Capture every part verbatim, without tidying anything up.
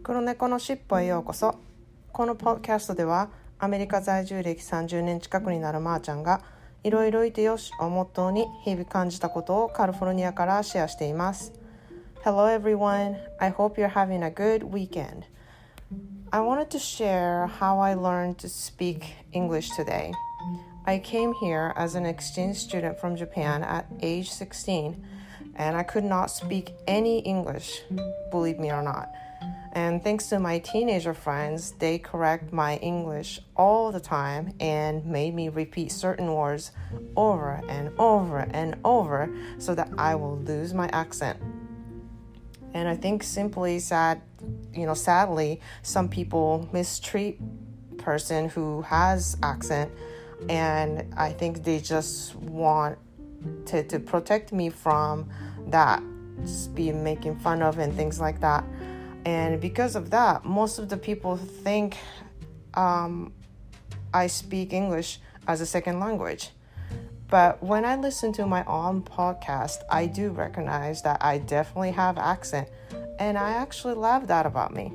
黒猫のしっぽへようこそ。このポッドキャストではアメリカ在住歴さんじゅうねん近くになるまーちゃんがいろいろいてよしをモットーに日々感じたことをカリフォルニアからシェアしています。 Hello everyone, I hope you're having a good weekend. I wanted to share how I learned to speak English today. I came here as an exchange student from Japan at age sixteen and I could not speak any English, believe me or not.And thanks to my teenager friends, they correct my English all the time and made me repeat certain words over and over and over so that I will lose my accent. And I think simply sad, you know, sadly, some people mistreat person who has accent, and I think they just want to, to protect me from that, just be making fun of and things like that.And because of that, most of the people think um, I speak English as a second language. But when I listen to my own podcast, I do recognize that I definitely have accent. And I actually love that about me.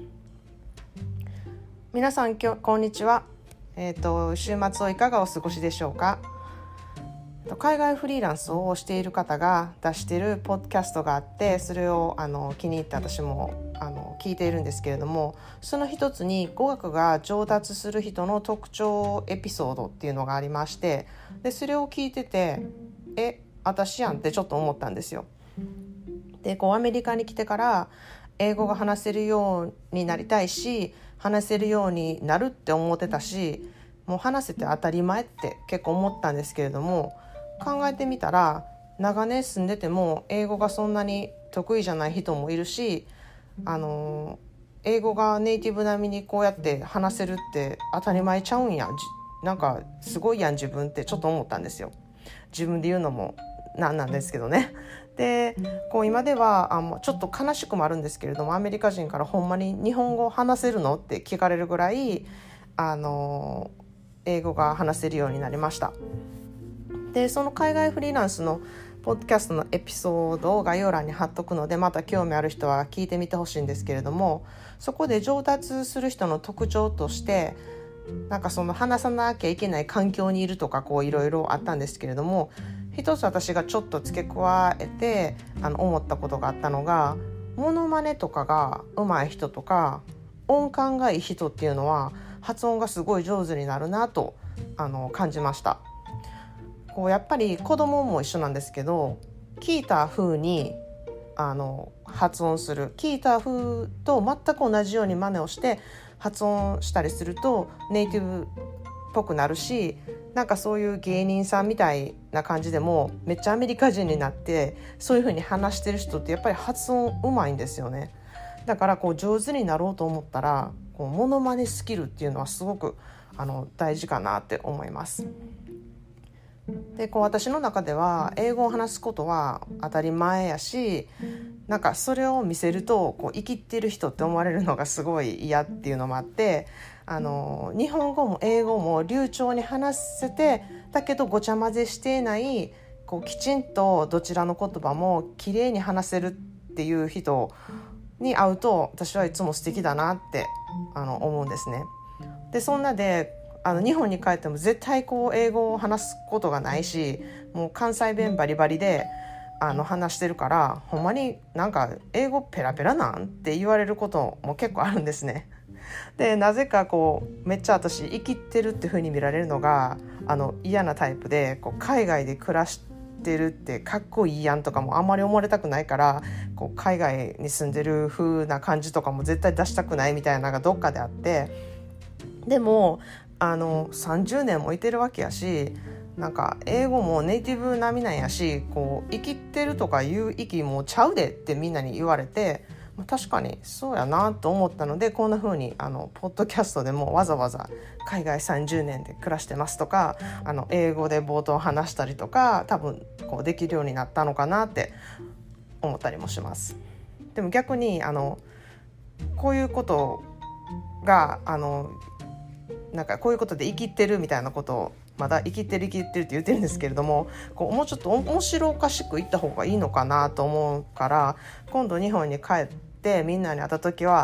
皆さん、きょこんにちは。えっと、週末をいかがお過ごしでしょうか。海外フリーランスをしている方が出しているポッドキャストがあって、それをあの気に入って私もあの聞いているんですけれども、その一つに語学が上達する人の特徴エピソードっていうのがありまして、でそれを聞いててえ私やんってちょっと思ったんですよ。でこうアメリカに来てから英語が話せるようになりたいし、話せるようになるって思ってたし、もう話せて当たり前って結構思ったんですけれども、考えてみたら長年住んでても英語がそんなに得意じゃない人もいるし、あの英語がネイティブ並みにこうやって話せるって当たり前ちゃうんや、なんかすごいやん自分ってちょっと思ったんですよ。自分で言うのもなんなんですけどね。でこう今ではあもうちょっと悲しくもあるんですけれども、アメリカ人からほんまに日本語話せるのって聞かれるぐらいあの英語が話せるようになりました。でその海外フリーランスのポッドキャストのエピソードを概要欄に貼っとくので、また興味ある人は聞いてみてほしいんですけれども、そこで上達する人の特徴としてなんかその話さなきゃいけない環境にいるとかこういろいろあったんですけれども、一つ私がちょっと付け加えてあの思ったことがあったのが、モノマネとかが上手い人とか音感がいい人っていうのは発音がすごい上手になるなとあの感じました。こうやっぱり子供も一緒なんですけど、聞いた風にあの発音する、聞いた風と全く同じように真似をして発音したりするとネイティブっぽくなるし、なんかそういう芸人さんみたいな感じでもめっちゃアメリカ人になってそういう風に話してる人ってやっぱり発音うまいんですよね。だからこう上手になろうと思ったらこうモノマネスキルっていうのはすごくあの大事かなって思います。でこう私の中では英語を話すことは当たり前やし、なんかそれを見せるとこう生きってる人って思われるのがすごい嫌っていうのもあって、あの日本語も英語も流暢に話せて、だけどごちゃ混ぜしていない、こうきちんとどちらの言葉もきれいに話せるっていう人に会うと私はいつも素敵だなってあの思うんですね。でそんなであの日本に帰っても絶対こう英語を話すことがないし、もう関西弁バリバリであの話してるから、ほんまになんか英語ペラペラなんって言われることも結構あるんですね。でなぜかこうめっちゃ私生きてるって風に見られるのがあの嫌なタイプで、こう海外で暮らしてるってかっこいいやんとかもあんまり思われたくないから、こう海外に住んでる風な感じとかも絶対出したくないみたいなのがどっかであって、でもあのさんじゅうねんもいてるわけやし、なんか英語もネイティブ並みなんやし、こう生きてるとかいう息もちゃうでってみんなに言われて、確かにそうやなと思ったので、こんな風にあのポッドキャストでもわざわざ海外さんじゅうねんで暮らしてますとか、あの英語で冒頭話したりとか多分こうできるようになったのかなって思ったりもします。でも逆にあのこういうことがあのなんかこういうことで生きてるみたいなことをまだ生きてる生きてるって言ってるんですけれども、こうもうちょっと面白おかしく言った方がいいのかなと思うから、今度日本に帰ってみんなに会った時は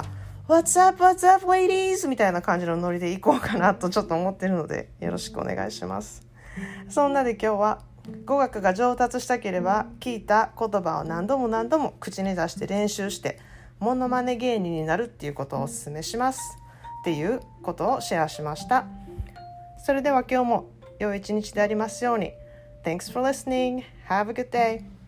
What's up, what's up, ladies? みたいな感じのノリでいこうかなとちょっと思ってるので、よろしくお願いします。そんなで今日は語学が上達したければ聞いた言葉を何度も何度も口に出して練習してモノマネ芸人になるっていうことをお勧めしますっていうことをシェアしました。それでは今日も良い一日でありますように。Thanks for listening. Have a good day.